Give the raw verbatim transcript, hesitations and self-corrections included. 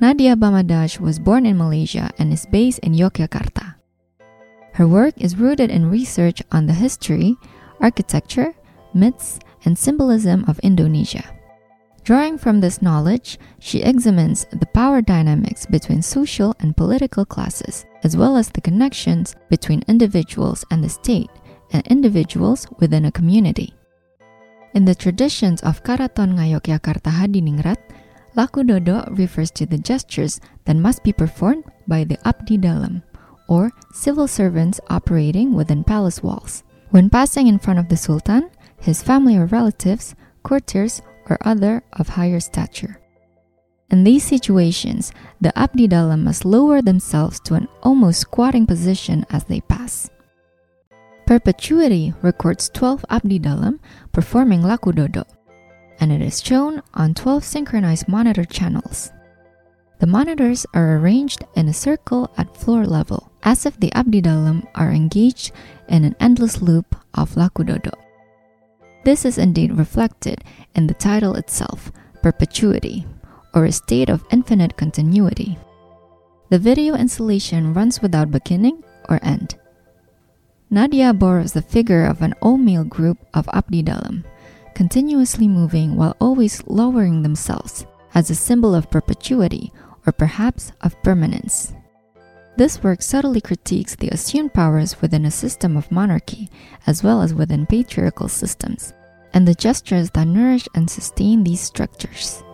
Nadia Bamadaj was born in Malaysia and is based in Yogyakarta. Her work is rooted in research on the history, architecture, myths, and symbolism of Indonesia. Drawing from this knowledge, she examines the power dynamics between social and political classes, as well as the connections between individuals and the state, and individuals within a community. In the traditions of Karaton Ngayogyakarta Hadiningrat, Laku Dodo refers to the gestures that must be performed by the Abdi Dalam, or civil servants operating within palace walls, when passing in front of the Sultan, his family or relatives, courtiers, or other of higher stature. In these situations, the Abdi Dalam must lower themselves to an almost squatting position as they pass. Perpetuity records twelve Abdi Dalam performing Laku Dodo, and it is shown on twelve synchronized monitor channels. The monitors are arranged in a circle at floor level, as if the Abdi Dalam are engaged in an endless loop of Laku Dodo. This is indeed reflected in the title itself, Perpetuity, or a state of infinite continuity. The video installation runs without beginning or end. Nadia borrows the figure of an all-male group of Abdi Dalam, continuously moving while always lowering themselves, as a symbol of perpetuity or perhaps of permanence. This work subtly critiques the assumed powers within a system of monarchy, as well as within patriarchal systems, and the gestures that nourish and sustain these structures.